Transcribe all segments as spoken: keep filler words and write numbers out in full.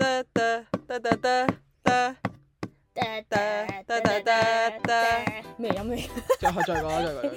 咩飲咩？ 再再講再講。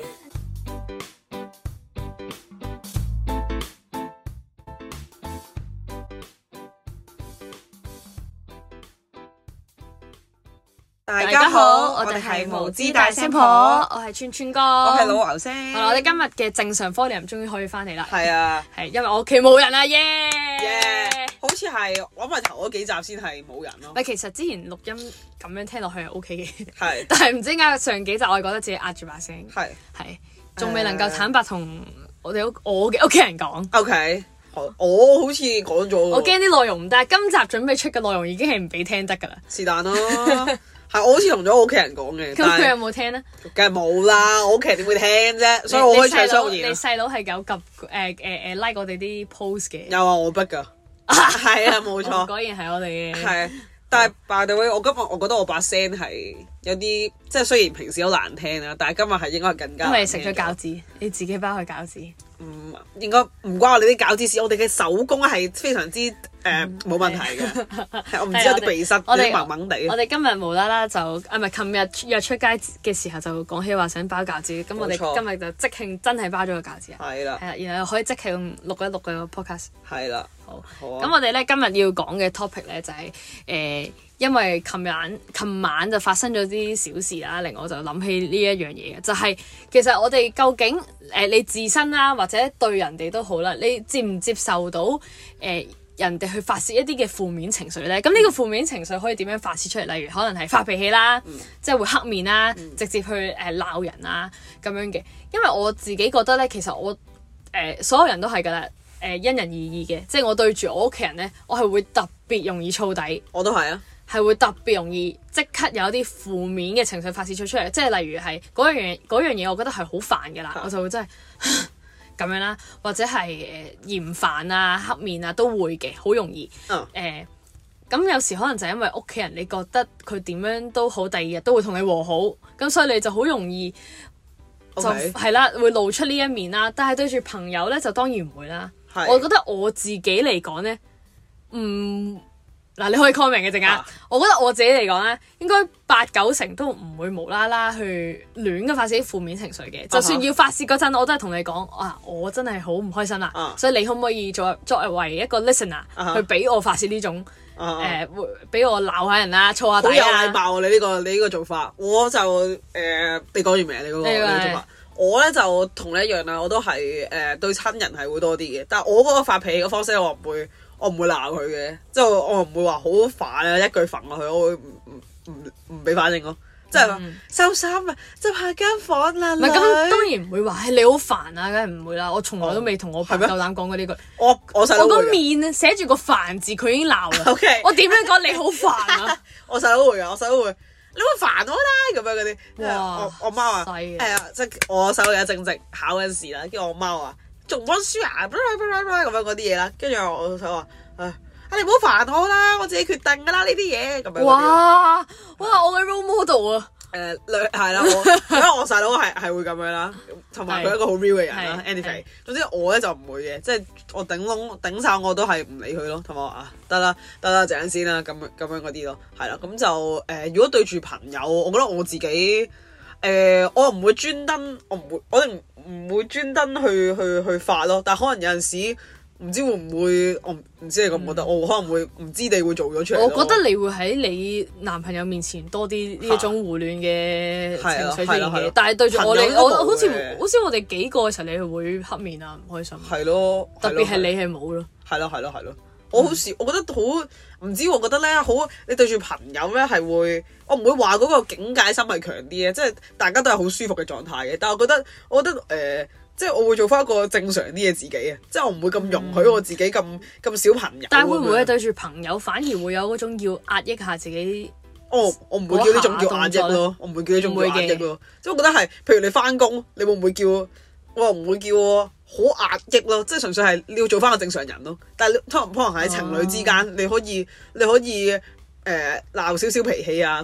大家好，我哋係無知大聲婆， 我係川川哥， 我係老牛聲。 係啦，我哋今日嘅正常科年終於可以翻嚟啦。 係啊， 係因為我屋企冇人啦，耶！ 耶！好似係我咪頭嗰幾集先係冇人咯。 唔係，其實之前錄音咁樣聽落去係 O K 嘅， 係， 但係唔知點解上幾集我係覺得自己壓住把聲， 係係仲未能夠坦白同我哋屋我嘅屋企人講。 O K，我好似講咗， 我驚啲內容唔得，今集準備出嘅內容已經係唔俾聽得㗎啦。 是但咯。係，我好似同咗我屋企人講嘅。 咁佢有冇聽咧？ 梗係冇啦，我屋企人點會聽啫？所以我可以唱雙言。 你細佬係有及誒誒誒 like 我哋啲 post 嘅。 有啊，我逼㗎。係啊，冇錯。 果然係我哋嘅。 係，但係 by the way，我今日我覺得我把聲係有啲，即係雖然平時好難聽啦，但係今日係應該係更加。 因為你食咗餃子，你自己包佢餃子。 唔應該唔關我哋啲餃子事，我哋嘅手工係非常之誒冇問題嘅。我唔知有啲鼻塞，有啲掹掹地。 我哋今日無啦啦就啊，唔係琴日約出街嘅時候就講起話想包餃子，咁我哋今日就即興真係包咗個餃子啊！ 係啦， 係啦，然後可以即興錄一錄個 podcast。 係啦， 好。 好啊。 咁我哋咧今日要講嘅 topic 咧就係誒，因為琴晚琴晚就發生咗啲小事啦，令我就諗起呢一樣嘢嘅，就係其實我哋究竟誒你自身啦，或者對人哋都好啦，你接唔接受到誒人哋去發泄一啲嘅負面情緒咧？咁呢個負面情緒可以點樣發泄出嚟？例如可能係發脾氣啦， 嗯、 即係會黑面啦， 嗯、 直接去誒鬧人啊咁樣嘅。因為我自己覺得咧，其實我誒、呃、所有人都係㗎啦，誒、呃、因人而異嘅。即係我對住我屋企人咧，我係會特別容易燥底。我都係啊。係會特別容易即刻有啲負面嘅情緒發泄出出嚟，即係例如係嗰樣嘢嗰樣嘢，我覺得係好煩嘅啦，啊、我就會真係咁樣啦，或者係誒嫌煩啊、黑面啊都會嘅，好容易誒。咁、啊呃、有時可能就係因為屋企人，你覺得佢點樣都好，第二日都會同你和好，咁所以你就好容易就係 Okay. 啦，會露出呢一面啦。但係對住朋友咧，就當然唔會啦。是我覺得我自己嚟講咧，唔、嗯。嗱，你可以 comment 嘅陣間，啊、我覺得我自己嚟講咧，應該八九成都唔會無啦啦去亂咁發泄啲負面情緒嘅。Uh huh. 就算要發泄嗰陣，我都係同你講，啊，我真係好唔開心啦，uh huh. 所以你可唔可以作作為一個 listener、uh huh. 去俾我發泄呢種誒，會俾、uh huh. 呃、我鬧下人啊，燥下底啊。好有禮貌啊！你呢、呢個你呢個做法，我就誒、呃，你講完未啊？你嗰、嗰個你個做法，我咧就同你一樣啦，我都係誒、呃、對親人係會多啲嘅，但係我嗰個發脾氣嘅方式，我唔會。我唔會鬧佢嘅，即係我唔會話好煩啊，一句煩落去，我會唔唔唔唔俾反應咯，即係話收衫啊，執下間房啦。唔係咁當然唔會話係你好煩啊，梗係唔會啦。我從來都未同我爸夠膽講過呢句。我我細佬我個面寫住個煩字，佢已經鬧啦。Okay. 我點樣講你好煩啊？我細佬會啊，我細佬會，你會煩我啦咁樣嗰啲。哇！我我媽話係啊，即係我細佬而家正值考緊試啦，跟住我媽話。仲溫書啊，咁樣嗰啲嘢啦，跟住我想話，唉，啊你唔好煩我啦，我自己決定噶啦呢啲嘢，咁樣。哇哇，我嘅 role model 啊！誒，係啦，我因為我細佬係係會咁樣啦，同埋佢一個好 real 嘅人啦。anyway，總之我咧就唔會嘅，即係我頂籠頂曬我都係唔理佢咯，同埋話啊得啦得啦，陣間先啦，咁咁樣嗰啲咯，係啦，咁就誒，如果對住朋友，我覺得我自己。誒、呃，我唔會專登，我唔會，我哋唔唔會專登去去去發咯。但係可能有陣時，唔知會唔會，我唔知你覺唔覺得，嗯、我可能會唔知你會做咗出嚟。我覺得你會喺你男朋友面前多啲呢一種胡亂嘅情緒出現嘅，但係對住我哋，我好似好似我哋幾個嘅時候，你係會黑面啊，唔開心。係咯，特別係你係冇咯。係咯係咯係咯。我好似我覺得好唔知，我覺得咧好，你對住朋友咧係會，我唔會話嗰個警戒心係強啲嘅，即係大家都係好舒服嘅狀態嘅。但係我覺得，我覺得誒、呃，即係我會做翻一個正常啲嘅自己啊，即係我唔會咁容許我自己咁咁、嗯、小朋友。但係會唔會對住朋友反而會有嗰種要壓抑下自己？哦，我唔會叫呢種叫壓抑咯，我唔會叫呢種叫壓抑咯。即係我覺得係，譬如你翻工，你會唔會叫？我唔會叫好壓抑咯，即係純粹係你要做翻個正常人咯。但係可能可能喺情侶之間，你可以你可以誒鬧少少脾氣啊，咁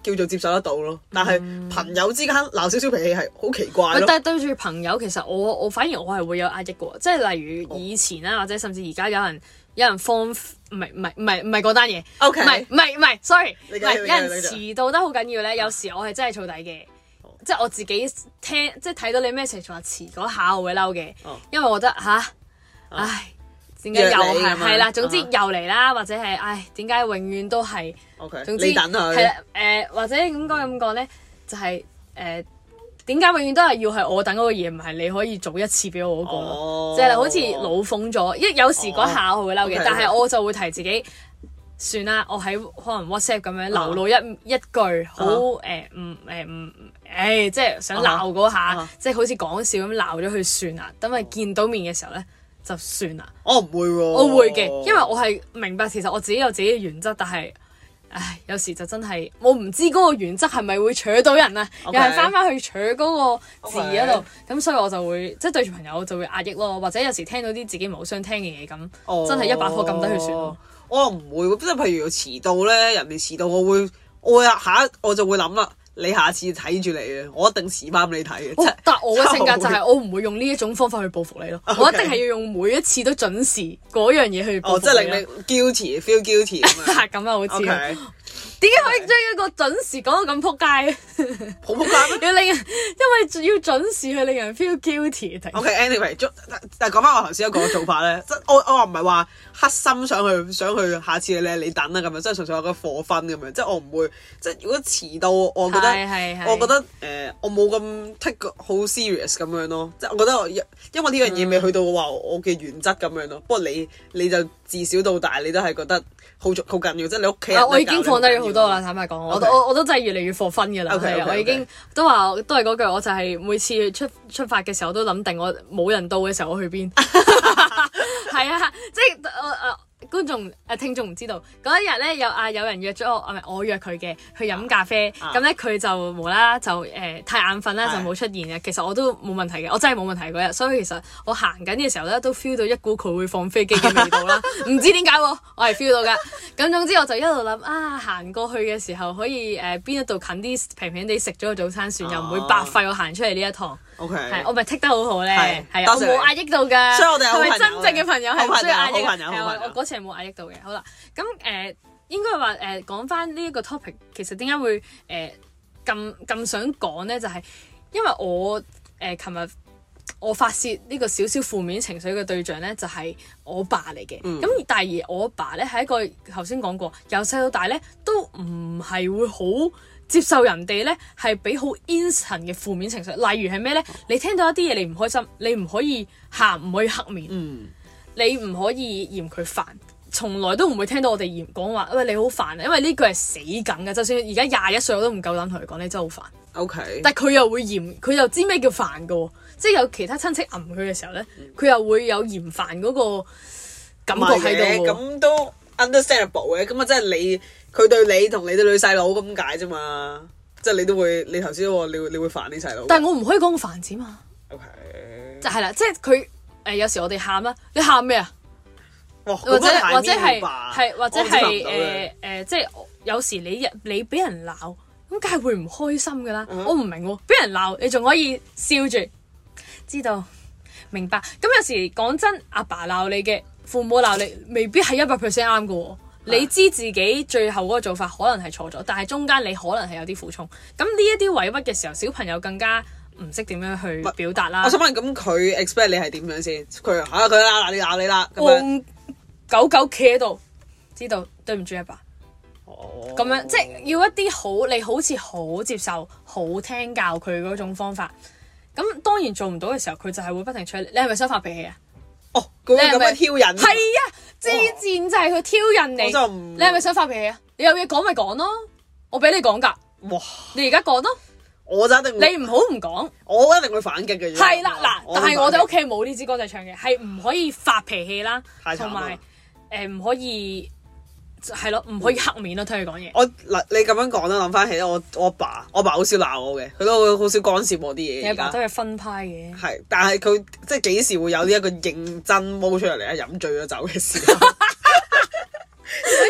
叫做接受得到咯。但係朋友之間鬧少少脾氣係好奇怪咯。 但係對住朋友，其實我我反而我係會有壓抑嘅喎，即係例如以前啦，或者甚至而家有人有人放唔係唔係唔係唔係嗰單嘢，唔係唔係唔係，sorry，唔係有人遲到得好緊要咧。有時我係真係燥底嘅，即係我自己聽即係睇到你 message 話遲嗰下我會嬲嘅，因為我覺得吓，唉。點解又係係啦？總之又嚟啦，或者係唉，點解永遠都係 ？OK， 總之你等佢係啦，誒或者應該咁講咧，就係誒點解永遠都係要係我等嗰個嘢，唔係你可以早一次俾我嗰個咯？即係好似老諷咗，因為有時嗰下我會嬲嘅，但係我就會提自己算啦，我喺可能 WhatsApp 咁樣流露一一句好誒唔誒唔誒，即係想鬧嗰下，即係好似講笑咁鬧咗佢算啦。等佢見到面嘅時候咧。就算啦， 我唔會喎， 我會嘅，因為我係明白其實我自己有自己嘅原則，但係，唉，有時就真係我唔知嗰個原則係咪會扯到人啊，okay, 又係翻翻去扯嗰個字嗰度，咁 okay, 所以我就會即係對住朋友就會壓抑咯，或者有時聽到啲自己唔好想聽嘅嘢咁，哦、真係一把火撳低佢算咯。 我又唔會，即係譬如遲到咧，人哋遲到我會，我會下一我就會諗啦。你下次睇住你嘅，我一定遲翻俾你睇嘅。哦、但係我嘅性格就係我唔會用呢一種方法去報復你咯。Okay. 我一定係要用每一次都準時嗰樣嘢去報復你。哦，即係令你 guilty，feel guilty 咁樣。咁啊，好似。Okay. 點解可以將一個準時講到咁撲街？好撲街要令人，因為要準時去令人 feel guilty。OK，anyway，、okay, 但係講翻我頭先一個做法咧，即我我話唔係話黑心想去想去下次你你等啦咁樣，即係純粹有個課分咁樣，即係我唔會即係如果遲到，我覺得我覺得誒、呃、我冇咁 take 好 serious 咁樣咯，即係我覺得我因為呢樣嘢未去到話我嘅原則咁樣咯。不過你你就自小到大你都係覺得好好緊要，即係你屋企人。我已經放低咗好多啦，坦白講，我我我都真係越嚟越課分㗎啦。係啊，我已經都話都係嗰句，我就係每次出出發嘅時候，我都諗定我冇人到嘅時候我去邊。係啊，即係誒誒。觀眾誒聽眾唔知道嗰一日咧有啊有人約咗我，唔係我約佢嘅去飲咖啡，咁咧佢就無啦啦就誒、呃、太眼瞓啦，就冇出現嘅。其實我都冇問題嘅，我真係冇問題嗰日。所以其實我行緊嘅時候咧都 feel 到一股佢會放飛機嘅味道啦，唔知點解喎，我係 feel 到㗎。咁總之我就一路諗啊，行過去嘅時候可以誒邊、呃、一度近啲平平地食咗個早餐算，又唔會白費我行出嚟呢一趟。OK， 係我咪剔得好好咧，係啊，我冇壓抑到㗎，所以我哋係咪真正嘅朋友係唔需要壓抑嘅？係啊，我嗰次係冇壓抑到嘅。好啦，咁誒、呃、應該話誒講翻呢一個 topic，其實點解會誒咁咁想講咧？就係、是、因為我誒琴日我發泄呢個少少負面情緒嘅對象咧，就係、是、我爸嚟嘅。咁、嗯、但係而我爸咧係一個頭先講過，由細到大咧都唔係會好接受人哋咧係俾好 instant 嘅負面情緒，例如係咩咧？你聽到一啲嘢你唔開心，你唔可以喊，唔可以黑面，嗯、你唔可以嫌佢煩，從來都唔會聽到我哋嫌講話，喂你好煩啊！因為呢句係死梗嘅，就算而家廿一歲我都唔夠膽同佢講，你真係好煩。OK，但係佢又會嫌，佢又知咩叫煩嘅，即係有其他親戚揞佢嘅時候咧，佢、嗯、又會有嫌煩嗰個感覺喺度。 咁都 understandable 嘅，咁啊即係你。佢對你同你對女細佬咁解啫嘛，即係你都會，你頭先話你會你會煩你細佬。但係我唔可以講個煩字嘛。O K。就係啦，即係佢誒有時我哋喊啦，你喊咩啊？或者或者係係或者係誒誒，即係有時你你俾人鬧，咁梗係會唔開心㗎啦。我唔明喎，俾人鬧你仲可以笑住，知道明白。咁有時講真，阿爸鬧你嘅，父母鬧你，未必係一百 percent 啱㗎喎。你知自己最後嗰個做法可能係錯咗，但係中間你可能係有啲苦衷。咁呢一啲委屈嘅時候，小朋友更加唔識點樣去表達啦。我想問，咁佢 expect 你係點樣先？佢嚇佢啦，嗱你鬧你啦，戇狗狗企喺度，知道對唔住阿爸。哦，咁樣即係要一啲好，你好似好接受、好聽教佢嗰種方法。咁當然做唔到嘅時候，佢就係會不停催你。你係咪想發脾氣啊？哦，佢咁樣挑釁。係啊，之前就係佢挑釁你。我就唔。你係咪想發脾氣啊？你有嘢講咪講咯，我俾你講㗎。哇！你而家講咯。我就一定。你唔好唔講。我一定會反擊嘅。係啦，嗱，但係我哋屋企冇呢支歌仔唱嘅，係唔可以發脾氣啦，同埋誒唔可以係咯，唔可以黑面咯，聽佢講嘢。我嗱，你咁樣講啦，諗翻起咧，我我阿爸，我阿爸好少鬧我嘅，佢都好少干涉我啲嘢。你阿爸都係分派嘅。係，但係佢即係幾時會有呢一個認真摸出嚟啊？飲醉咗酒嘅時候。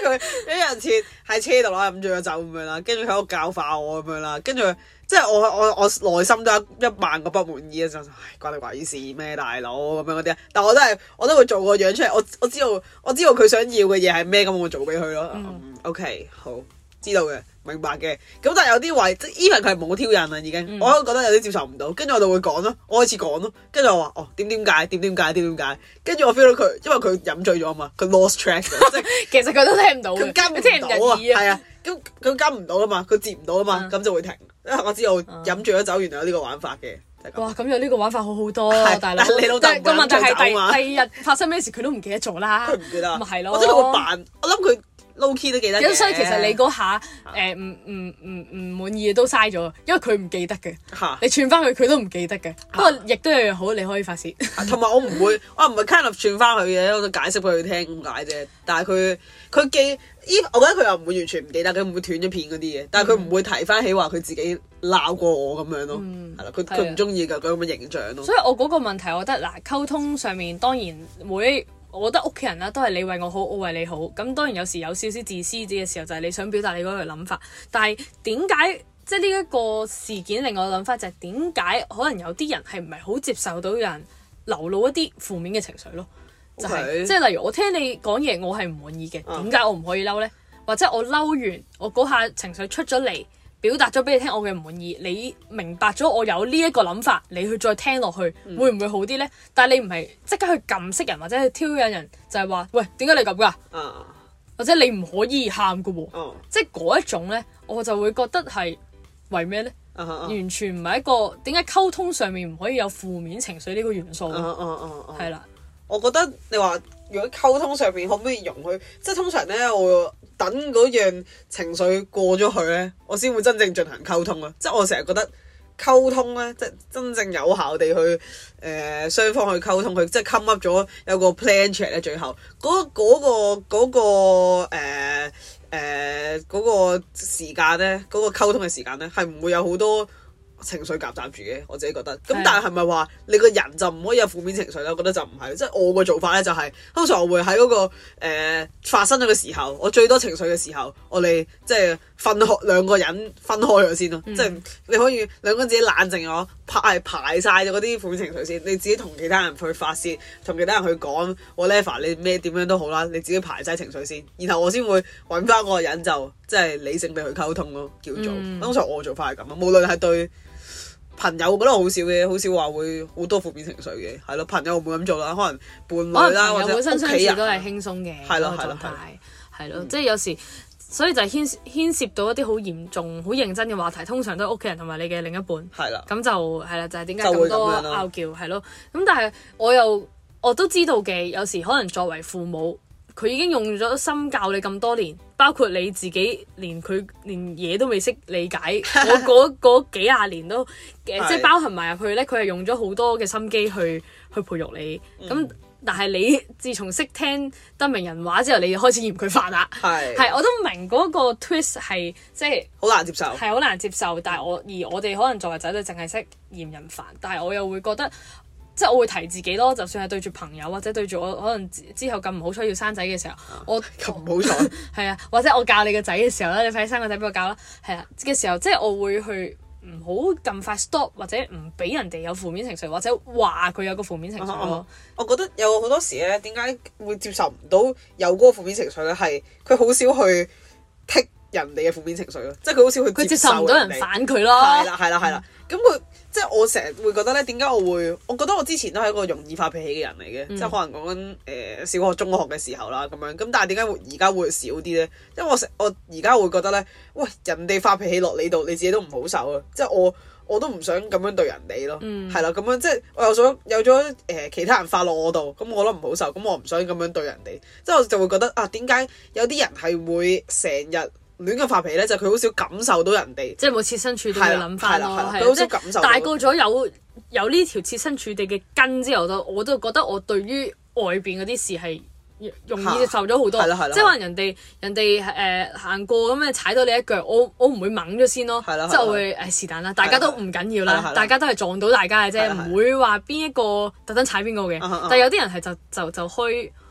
係佢一人設喺車度啦，飲醉咗酒咁樣啦，跟住喺度教化我咁樣啦，跟住即係我我我內心都有一萬個不滿意啊！就唉關你鬼事咩大佬咁樣嗰啲啊，但我都係我都會做個樣出嚟，我我知道我知道佢想要嘅嘢係咩，咁我做俾佢咯。嗯嗯、OK 好。知道嘅，明白嘅。咁但係有啲位，即係 even 佢係冇挑釁啦，已經，嗯、我都覺得有啲接受唔到。跟住我就會講咯，我開始講咯。跟住我話哦，點點解？點點解？點點解？跟住我 feel 到佢，因為佢飲醉咗啊嘛，佢 lost track 即係其實佢都聽唔到， 佢跟唔到啊，係啊，咁佢跟唔到啊嘛，佢接唔到啊嘛，咁、嗯、就會停。因為我知道飲醉咗酒原來有呢個玩法嘅。 哇！咁有呢個玩法好好多，大佬。 你老豆個問題係第第二日發生咩事佢都唔記得咗啦。 佢唔記得， 咪係咯。 或者佢會扮，我諗佢。low key 都記得嘅， 所以其實你嗰下誒唔唔唔唔滿意都嘥咗，因為佢唔記得嘅。 哈你串翻佢，佢都唔記得嘅。不過亦都有樣好，你可以發泄。 同埋我唔會，我唔係 kind of 串翻佢嘅，我就解釋俾佢聽咁解啫。但係佢佢記依，我覺得佢又唔會完全唔記得，佢唔會斷咗片嗰啲嘢。但係佢唔會提翻起話佢自己鬧過我咁樣咯。係啦、嗯，佢佢唔中意㗎，佢咁嘅形象咯。 所以我嗰個問題，我覺得嗱，溝通上面當然每。我覺得屋企人啦，都係你為我好，我為你好。咁當然有時有少少自私啲嘅時候，就係、是、你想表達你嗰個諗法。但係點解即係呢一個事件令我諗法就係點解可能有啲人係唔係好接受到有人流露一啲負面嘅情緒咯？就係、是、即係例如我聽你講嘢，我係唔滿意嘅，點解我唔可以嬲呢？或者我嬲完，我嗰下情緒出咗嚟。表達咗俾你聽我嘅唔滿意，你明白咗我有呢一個諗法，你去再聽落去，嗯、會唔會好啲呢？但係你唔係即刻去撳熄人或者去挑釁人，就係、是、話喂，點解你咁㗎？啊、或者你唔可以喊㗎喎，啊、即係嗰一種呢，我就會覺得係為咩呢？啊啊、完全唔係一個點解溝通上面唔可以有負面情緒呢個元素？係啦， 我覺得你話如果溝通上面可唔可以容許？即係通常呢，我等嗰樣情緒過咗去呢，我先會真正進行溝通啊！即係我成日覺得溝通呢，即係真正有效地去誒、呃、雙方去溝通，佢即係 come up 咗有個 plan 出嚟咧。最後嗰嗰、嗰個嗰、嗰個誒誒嗰個時間呢，嗰、嗰個溝通嘅時間呢，係唔會有好多情緒夾雜住嘅，我自己覺得。咁但係係咪話你個人就唔可以有負面情緒咧？我覺得就唔係。即係我個做法咧就係、是，通常我會喺嗰、那個誒、呃、發生咗嘅時候，我最多情緒嘅時候，我哋即係分開兩個人分開咗先咯。嗯、即係你可以兩個人自己冷靜咗，排排曬咗嗰啲負面情緒先，你自己同其他人去發泄，同其他人去講 whatever 你咩點樣都好啦，你自己排晒情緒先，然後我先會揾翻嗰個人就即係理性地去溝通咯，叫做。嗯、通常我做法係咁啊，無論係對朋友，我覺得好少嘅，好少話會好多負面情緒嘅，係咯。朋友唔會咁做啦，可能伴侶啦，或者屋企人都係輕鬆嘅， 係咯係咯係咯，即係有時，所以就係牽牽涉到一啲好嚴重、好認真嘅話題，通常都係屋企人同埋你嘅另一半，係啦的，咁就係啦，就係點解咁多拗撬係咯。咁但係我又我都知道嘅，有時可能作為父母。佢已經用咗心教你咁多年，包括你自己連佢連嘢都未識理解，我嗰嗰幾廿年都，即係包含埋入去咧。佢係用咗好多嘅心機去去培育你。咁、嗯、但係你自從識聽得明人話之後，你就開始嫌佢煩啦。係係，我都明嗰個 twist 係即係好難接受， 係好難接受。但係我而我哋可能作為仔女，淨係識嫌人煩，但係我又會覺得。即係我會提自己咯，就算係對住朋友或者對住我可能之後咁唔好彩要生仔嘅時候，啊、我咁唔好彩係啊，或者我教你個仔嘅時候咧，你快啲生個仔俾我教啦，係啊嘅時候，即係我會去唔好咁快 stop 或者唔俾人哋有負面情緒，或者話佢有個負面情緒咯、啊啊。 我覺得有好多時咧，點解會接受唔到有嗰個負面情緒咧？係佢好少去剔人哋嘅負面情緒咯，即係佢好少去接受，佢接受唔到人反佢咯。 係啦係啦係啦，咁佢。即係我成日會覺得咧，點解我會？我覺得我之前都係一個容易發脾氣嘅人嚟嘅，嗯、即係可能講緊誒小學、中學嘅時候啦咁樣。咁但係點解會而家會少啲咧？因為我成我而家會覺得咧，喂，人哋發脾氣落你度，你自己都唔好受啊！即係我我都唔想咁樣對人哋咯，係啦咁樣。即係我又想有咗誒、呃、其他人發落我度，咁我都唔好受，咁我唔想咁樣對人哋。即係我就會覺得啊，點解有啲人係會成日亂咁發脾氣咧？就佢、是、好少感受到人哋， 即係冇設身處地嘅諗法咯。 佢好少感受到。大個咗有有呢條設身處地嘅根之後，都我都覺得我對於外邊嗰啲事係容易接受咗好多。即係可能人哋人哋誒行過咁樣踩到你一腳，我我唔會掹咗先咯。即係我會誒是但啦，大家都唔緊要啦，大家都係撞到大家嘅啫，唔會話邊一個特登踩邊個嘅。但係有啲人係就就就開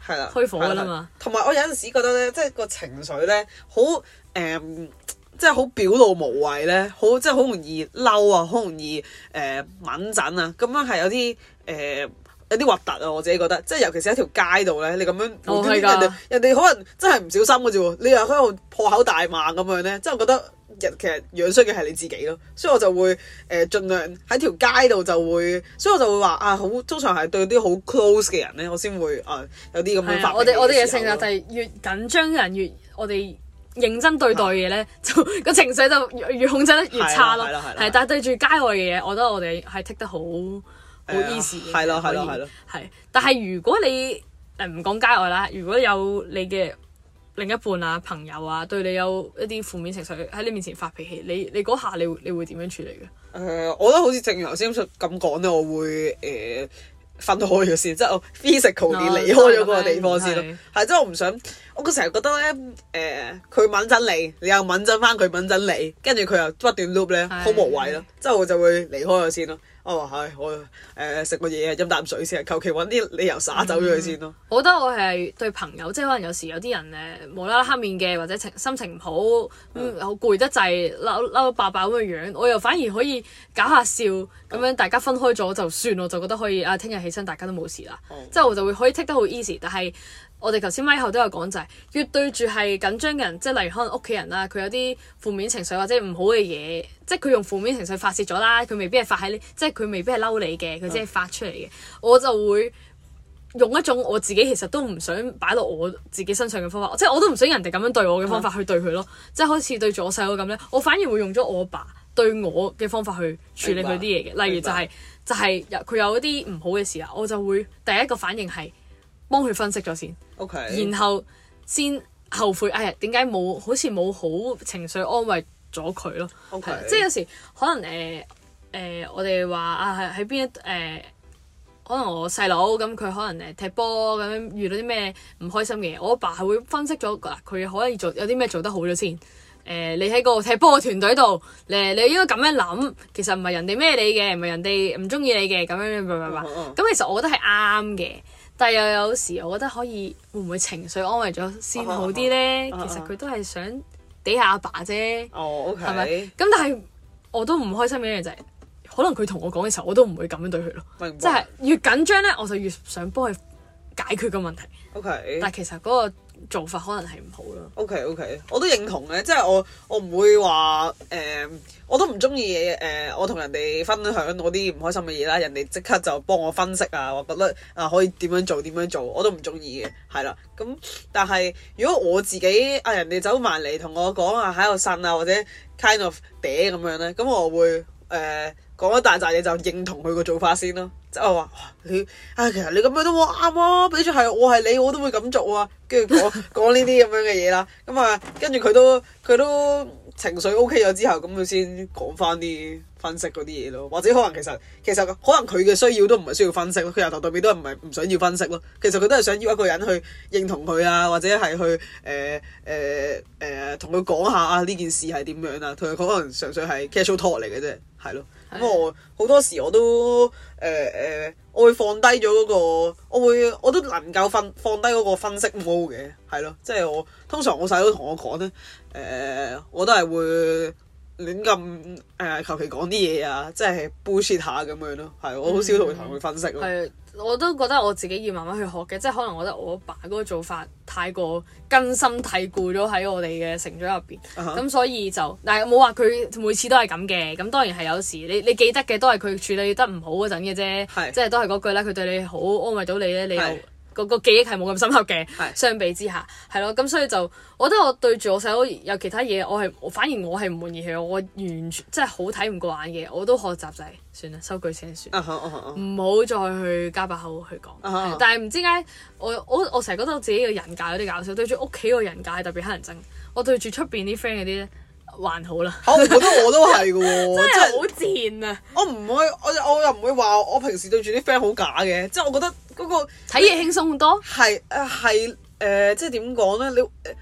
係啦， 開火㗎啦嘛。 同埋我有陣時覺得咧，即係個情緒咧，好誒、嗯，即係好表露無遺咧，好即係好容易嬲啊，好容易誒敏感啊，咁樣係有啲誒。呃有啲核突啊！我自己覺得，即係尤其是喺條街度咧，你咁樣無端端人哋人哋可能真係唔小心嘅啫喎，你又喺度破口大罵咁樣咧，即係我覺得人其實樣衰嘅係你自己咯，所以我就會誒、呃、盡量喺條街度就會，所以我就會話啊，好通常係對啲好 close 嘅人咧，我先會啊有啲咁樣發脾氣嘅時候。我哋我哋嘅性格就係越緊張嘅人越我哋認真對待嘅嘢咧，就個情緒就越越控制得越差咯。係，但係對住街外嘅嘢，我覺得我哋係 take 得好。好 easy 嘅， 係咯係咯係咯， 係。但係如果你誒唔講街外啦，如果有你嘅另一半啊、朋友啊，對你有一啲負面情緒喺你面前發脾氣，你你嗰下你你會點樣處理嘅？誒、呃，我覺得好似正如頭先咁講咧，我會誒、呃、分開咗先，即係我 physical 啲離開咗嗰個地方先咯。係，即係我唔想，我成日覺得咧誒，佢敏陣你，你又敏陣翻佢敏陣你，跟住佢又不斷 loop 咧，好無謂咯。即係我就會離開咗先咯。我話係，我誒食個嘢飲啖水先，求其揾啲理由灑走咗佢先咯、嗯。我覺得我係對朋友，即係可能有時有啲人誒無啦啦黑面嘅，或者情心情唔好，咁好攰得滯，嬲嬲到爆爆咁嘅樣，我又反而可以搞下笑，咁樣大家分開咗就算，我就覺得可以啊，聽日起身大家都冇事啦，嗯、即係我就會可以 take 得好 easy，但係。我哋頭先咪後都有講就係、是、越對住係緊張嘅人，即係例如可能屋企人啦，佢有啲負面情緒或者唔好嘅嘢，即係佢用負面情緒發泄咗啦，佢未必係發喺你，即係佢未必係嬲你嘅，佢只係發出嚟嘅。嗯、我就會用一種我自己其實都唔想擺落我自己身上嘅方法，即係我都唔想人哋咁樣對我嘅方法去對佢咯，嗯、即係好似對住我細佬咁咧，我反而會用咗我阿爸對我嘅方法去處理佢啲嘢嘅，例如就係、是、就係、是、佢有一啲唔好嘅事啦，我就會第一個反應係幫佢分析咗先。Okay. 然後先後悔，哎呀點解冇好似冇好情緒安慰咗佢咯？Okay. 即係有時可能誒誒、呃呃，我哋話啊喺喺邊一誒、呃，可能我細佬咁佢可能誒踢波咁樣遇到啲咩唔開心嘅嘢，我阿爸係會分析咗嗱，佢可以做有啲咩做得好咗先。誒、呃，你喺個踢波嘅團隊度，誒你應該咁樣諗，其實唔係人哋咩你嘅，唔係人哋唔中意你嘅咁樣，咁其實我覺得係啱嘅。但係又有時，我覺得可以會唔會情緒安慰咗先好啲咧？Uh huh, uh huh. 其實佢都係想嗲下阿爸啫，係咪？咁但係我都唔開心嘅一樣就係、是，可能佢同我講嘅時候，我都唔會咁樣對佢咯。明白。即係越緊張咧，我就越想幫佢解決個問題。Okay. 但係其實嗰個做法可能係唔好咯。OK OK，我都認同嘅，即係我我唔會話誒、呃，我都唔中意誒，我同人哋分享我啲唔開心嘅嘢啦，人哋即刻就幫我分析啊，我覺得啊可以點樣做點樣做，我都唔中意嘅，係啦。咁但係如果我自己啊人哋走埋嚟同我講啊喺度呻啊或者 kind of 嗲咁樣咧，咁我會誒。呃講一大扎嘢就認同佢個做法先咯，即係我話你啊，其實你咁樣都冇啱啊，比住係我係你我都會咁做啊，跟住講講呢啲咁樣嘅嘢啦，咁啊跟住佢都佢都情緒 OK 咗之後，咁佢先講翻啲分析嗰啲嘢咯，或者可能其實其實可能佢嘅需要都唔係需要分析咯，佢由頭到尾都係唔係唔想要分析咯，其實佢都係想要一個人去認同佢啊，或者係去誒誒誒同佢講下啊呢件事係點樣啊，同佢可能純粹係 casual talk 嚟嘅啫，係咯。咁、嗯、我好多時我都誒誒、呃呃，我會放低咗嗰個，我會我都能夠放放低嗰個分析 mode 嘅，係咯，即係我通常我細佬同我講咧，誒、呃、我都係會亂咁誒求其講啲嘢啊，即係 bullshit 下咁樣咯，係我好少同佢同佢分析咯。嗯我都覺得我自己要慢慢去學嘅，即係可能我覺得我阿爸嗰個做法太過根深蒂固咗喺我哋嘅成長入邊，咁、uh huh. 所以就但係冇話佢每次都係咁嘅，咁當然係有時你你記得嘅都係佢處理得唔好嗰陣嘅啫，是即係都係嗰句啦，佢對你好安慰到你咧，你又。個個記憶係冇咁深刻嘅，是相比之下係咯，咁所以就我覺得我對住我細佬有其他嘢，我係反而我係唔滿意佢，我完全即係好睇唔過眼嘅，我都學習就係算啦，收句先算，唔好、uh huh, uh huh. 再去加把口去講。Uh huh. 但係唔知點解我我我成日覺得我自己嘅人格有啲搞笑，對住屋企個人格係特別乞人憎，我對住出邊啲 friend 嗰啲咧還好啦。我覺得我都係嘅喎，真係好賤啊！我唔會，我我又唔會話我平時對住啲 friend 好假嘅，即係我覺得。嗰個睇嘢輕鬆好多，係誒係誒，即係點講咧？你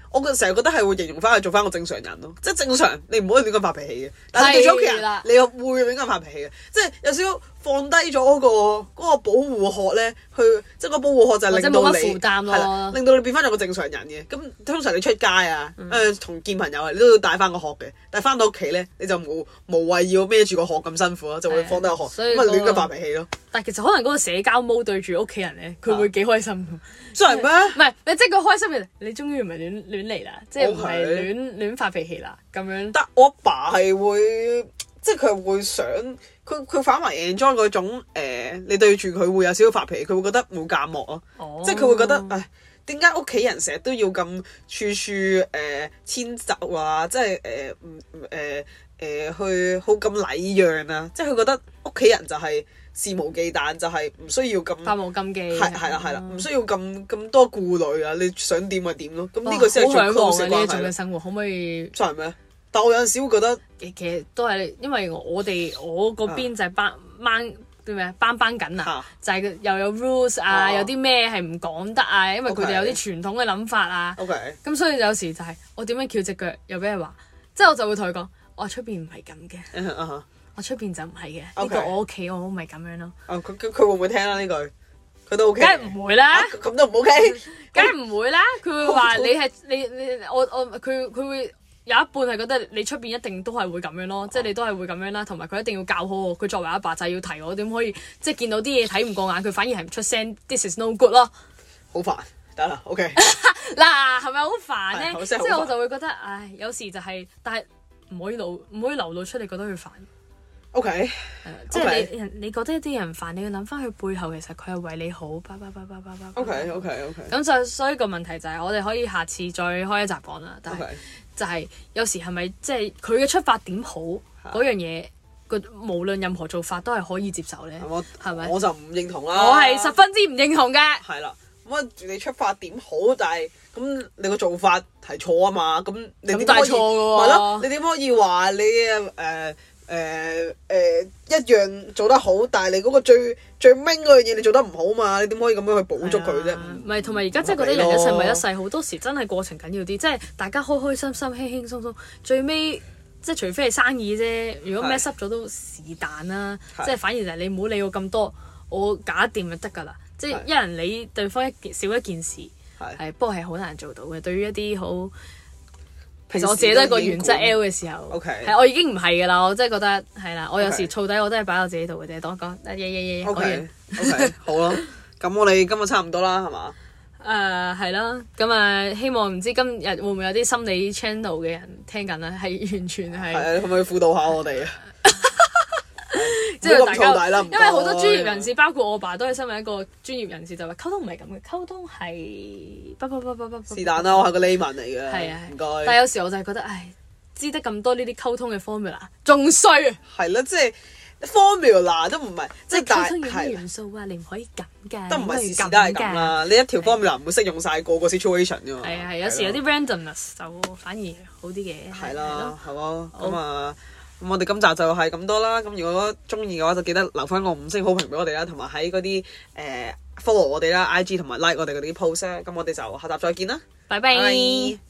我成日覺得係會形容翻佢做翻個正常人咯，即係正常你唔可以亂咁發脾氣嘅，但係對住屋企人你又會亂咁發脾氣嘅，即係有少少放低咗嗰個嗰個保護殼咧，去即係個保護殼就係令到你負擔咯， 令到你變翻咗個正常人嘅。咁通常你出街啊，誒同見朋友啊，你都要帶翻個殼嘅，但係翻到屋企咧你就冇無謂要孭住個殼咁辛苦咯，就會放低個殼，咁咪亂咁發脾氣咯。 但係其實可能嗰個社交模對住屋企人咧，佢會幾開心㗎。 真係咩？ 唔係，你即係佢開心嘅，你終於唔係亂亂嚟啦，即係唔係亂亂發脾氣啦咁樣。 但我阿爸係會，即係佢會想，佢佢反為 enjoy 嗰種、呃、你對住佢會有少少發脾氣，佢會覺得冇隔膜咯。哦、即係佢會覺得，唉，點解屋企人成日都要咁處處誒遷就啊？即係誒唔誒誒去好咁禮讓啊？即係佢覺得屋企人就係肆無忌憚，就係、是、唔需要咁百無禁忌， 係係啦係啦，唔需要咁咁多顧慮啊！你想點就點咯。咁呢個先係最 close 嘅關係。呢一種嘅生活可唔可以？真係咩？但我有陣時會覺得， 其實都係因為我哋我嗰邊就係班掹啲咩班班緊啊，就係又有 rules 啊，啊有啲咩係唔講得啊，因為佢哋有啲傳統嘅諗法啊。OK，咁所以有時就係我點樣翹隻腳，又俾人話，即係我就會同佢講，我出邊唔係咁嘅。Uh huh. 我出邊就唔係嘅，呢 Okay. 個我屋企我唔係咁樣咯。哦，佢佢佢會唔會聽啦呢句？佢都 OK。梗係唔會啦。咁都唔 OK。梗係唔會啦。佢會話你係你你我我佢佢會有一半係覺得你出邊一定都係會咁樣咯，即係、oh. 你都係會咁樣啦。同埋佢一定要教好我。佢作為阿爸就係要提我點可以，即係見到啲嘢睇唔過眼，佢反而係唔出聲。This is no good 咯。好煩，得啦 OK。嗱係咪好煩咧？即係我就會覺得，唉，有時就係、是，但係唔可以流唔可以流露出你覺得佢煩。O K，誒，即係你人，你覺得一啲人煩，你要諗翻佢背後，其實佢係為你好。叭叭叭叭叭叭。O K，O K，O K。咁就所以個問題就係，我哋可以下次再開一集講啦。但係就係有時係咪即係佢嘅出發點好嗰樣嘢，個無論任何做法都係可以接受咧？係咪？我就唔認同啦。我係十分之唔認同嘅。係啦，咁啊，你出發點好，但係咁你個做法係錯啊嘛？咁你點可以？係咯，你點可以話你誒？誒誒、呃呃、一樣做得好，但係你嗰個最最 main 嗰樣嘢你做得唔好嘛？你點可以咁樣去補足佢啫？唔係，同埋而家真係覺得人一世物一世，好多時真係過程緊要啲，即係大家開開心心、輕輕鬆鬆，最尾即係除非係生意啫。如果 mess up 咗都是但啦，是即係反而就係你唔好理我咁多，我搞掂就得㗎啦。是即係一人理對方一件少一件事，係是不過係好難做到嘅。對於一啲好其實我自己都係個原則 L 嘅時候，係 Okay. 我已經唔係㗎啦，我真係覺得係啦。我有時燥底我都係擺喺我自己度嘅啫。當我講，耶耶耶，講完。OK，好啦，咁我哋今日差唔多啦，係嘛？誒係啦，咁啊希望唔知今日會唔會有啲心理 channel 嘅人聽緊咧？係完全係。係啊，可唔可以輔導下我哋啊？即係大家，因為好多專業人士，包括我爸，都係身為一個專業人士，就話溝通唔係咁嘅，溝通係不不不不不是但啦，我係個 layman 嚟嘅，係啊，唔該。但係有時我就係覺得，唉，知得咁多呢啲溝通嘅 formula，仲衰啊！係啦，即係 formula 都唔係，即係溝通有啲元素啊，你唔可以咁㗎，都唔係時時都係咁啦。你一條 formula 唔會適用晒個個 situation 㗎嘛。係啊係，有時有啲 randomness 就反而好啲嘅。係啦，係咯，咁啊。咁我哋今集就係咁多啦，咁如果中意嘅話就記得留翻個五星好評俾我哋啦，同埋喺嗰啲誒 follow 我哋啦 I G 同埋 like 我哋嗰啲 post 咧，咁我哋就下集再見啦，拜拜。